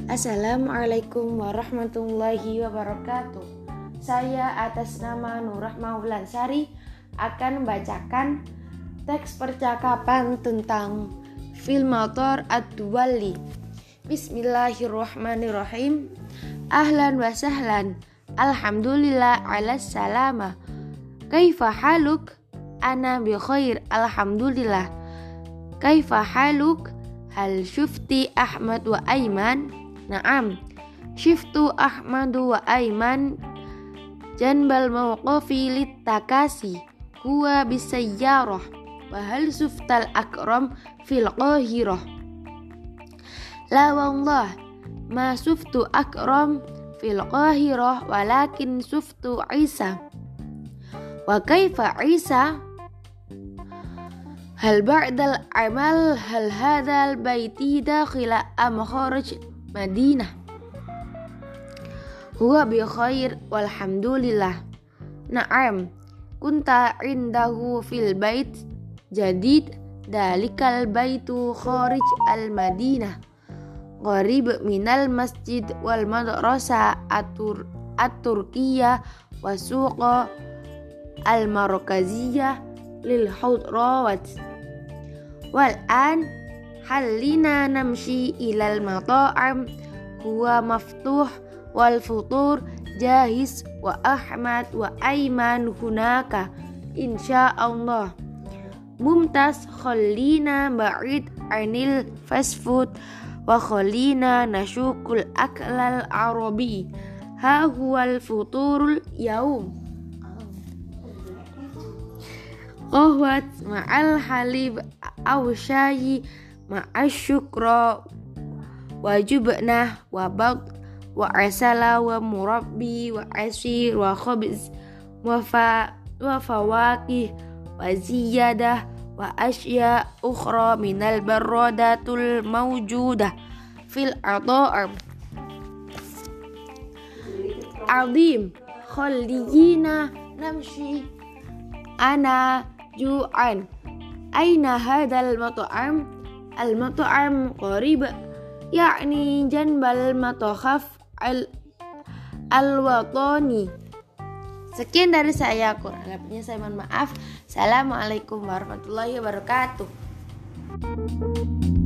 Assalamualaikum warahmatullahi wabarakatuh. Saya atas nama Nurah Maulansari akan membacakan teks percakapan tentang fil motor ad-duwali. Bismillahirrahmanirrahim. Ahlan wa sahlan. Alhamdulillah ala salama. Kaifa haluk? Ana bi khair, alhamdulillah. Kaifa haluk? Hal syufti Ahmad wa Aiman? Naam, syiftu Ahmadu wa Aiman janbal mawqafi littakasi huwa bisayyarah wa hal suftal akram fil qahirah. La wallah ma suftu akram fil qahirah walakin suftu Isa. Wa kaifa Isa? Hal ba'dal amal hal hadal baiti dakhila am kharaj Madinah. Huwa bi khair walhamdulillah. Na'am, kunta indahu fil bait jadid dalikal baitu kharij al Madinah qarib minal masjid wal madrasah at-turkiyah wa suqa al markaziyah lil hudrawat. Wal an halina namshi ilal mata'am huwa maftuh wal futur jahiz wa Ahmad wa Aiman hunaka insyaallah. Mumtaz, khallina ba'id anil fast food wa khallina nashukul aklal arabi. Ha huwal futurul yaum. Qahwat ma'al halib aw syayi ma'asyukra wa jubnah wa bad wa asala wa murabbi wa asir wa khubz wa fawakih wa ziyadah wa asya ukhra minal baradatul mawjudah fil ata'am. Azim khalliyina namshi ana ju'an. Aina hadal mat'am? Al-mat'am qarib yakni janbal matokhaf al-watani. Sekian dari saya, kurang lebihnya saya mohon maaf. Assalamualaikum warahmatullahi wabarakatuh.